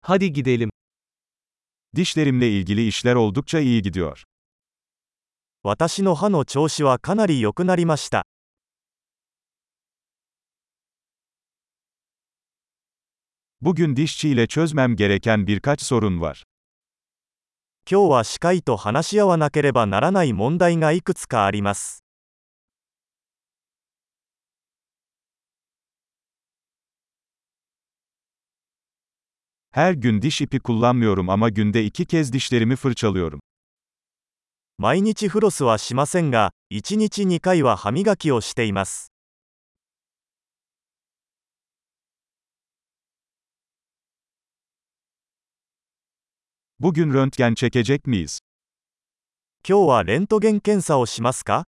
Hadi gidelim. Dişlerimle ilgili işler oldukça iyi gidiyor. 私の歯の調子はかなり良くなりました。 Bugün dişçiyle çözmem gereken birkaç sorun var. 今日は歯科医と話し合わなければならない問題がいくつかあります。 Her gün diş ipi kullanmıyorum ama günde 2 kez dişlerimi fırçalıyorum. 毎日フロスはしませんが、1日2回は歯磨きをしています。 Bugün röntgen çekecek miyiz? 今日はレントゲン検査をしますか？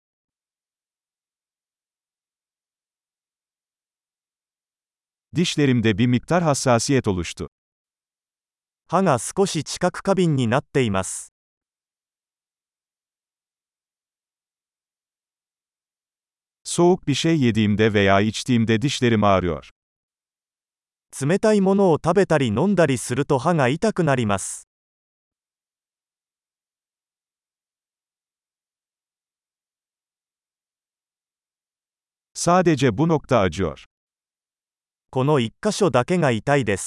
Dişlerimde bir miktar hassasiyet oluştu. 歯が少し知覚過敏になっています。 Soğuk bir şey yediğimde veya içtiğimde dişlerim ağrıyor. 冷たいものを食べたり飲んだりすると歯が痛くなります。 Sadece bu nokta acıyor. この1箇所だけが痛いです。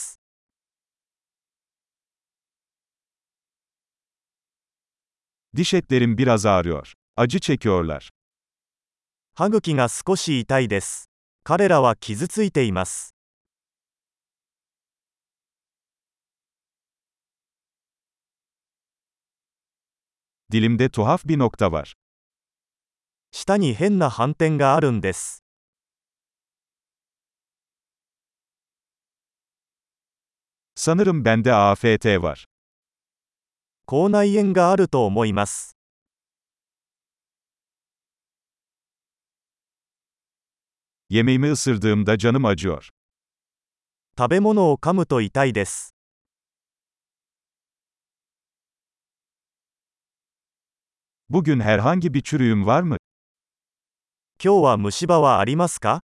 Diş etlerim biraz ağrıyor. Acı çekiyorlar. 歯茎が少し痛いです。彼らは傷ついています。 Dilimde tuhaf bir nokta var. 舌に変な斑点があるんです。 Sanırım bende AFT var. 口内炎があると思います。 Yemeğimi ısırdığımda canım acıyor. 食べ物を噛むと痛いです。 Bugün herhangi bir çürüğüm var mı? 今日は虫歯はありますか？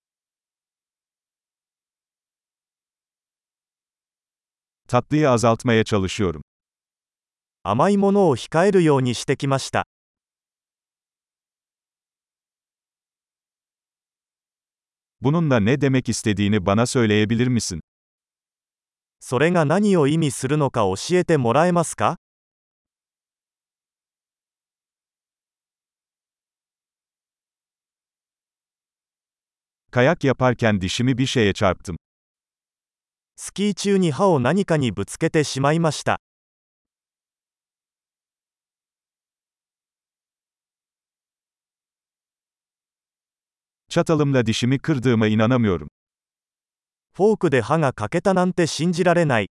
Tatlıyı azaltmaya çalışıyorum. 甘いものを控えるようにしてきました。 Bununla ne demek istediğini bana söyleyebilir misin? それが何を意味するのか教えてもらえますか？ Kayak yaparken dişimi bir şeye çarptım. スキー中に歯を何かにぶつけてしまいました。 Çatalımla dişimi kırdığıma inanamıyorum. フォークで歯が欠けたなんて信じられない。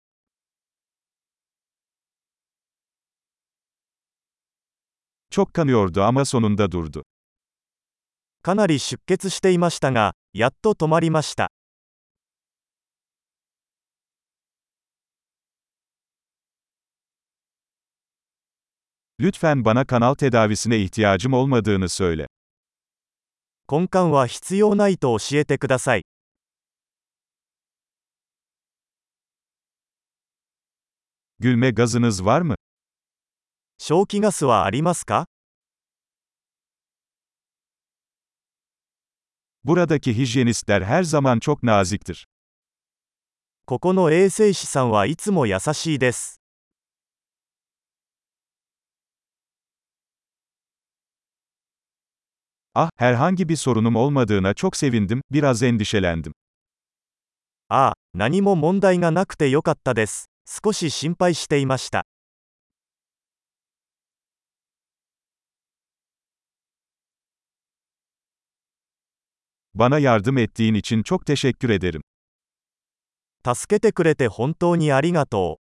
Çok kanıyordu ama sonunda durdu. かなり出血していましたが、やっと止まりました。 Lütfen bana kanal tedavisine ihtiyacım olmadığını söyle. 根幹は必要ないと教えてください。 Gülme gazınız var mı? 笑気ガスはありますか？ Buradaki hijyenistler her zaman çok naziktir. ここの衛生士さんはいつも優しいです。 Ah, herhangi bir sorunum olmadığına çok sevindim, biraz endişelendim. ああ、何も問題がなくてよかったです。少し心配していました。 Bana yardım ettiğin için çok teşekkür ederim. 助けてくれて本当にありがとう。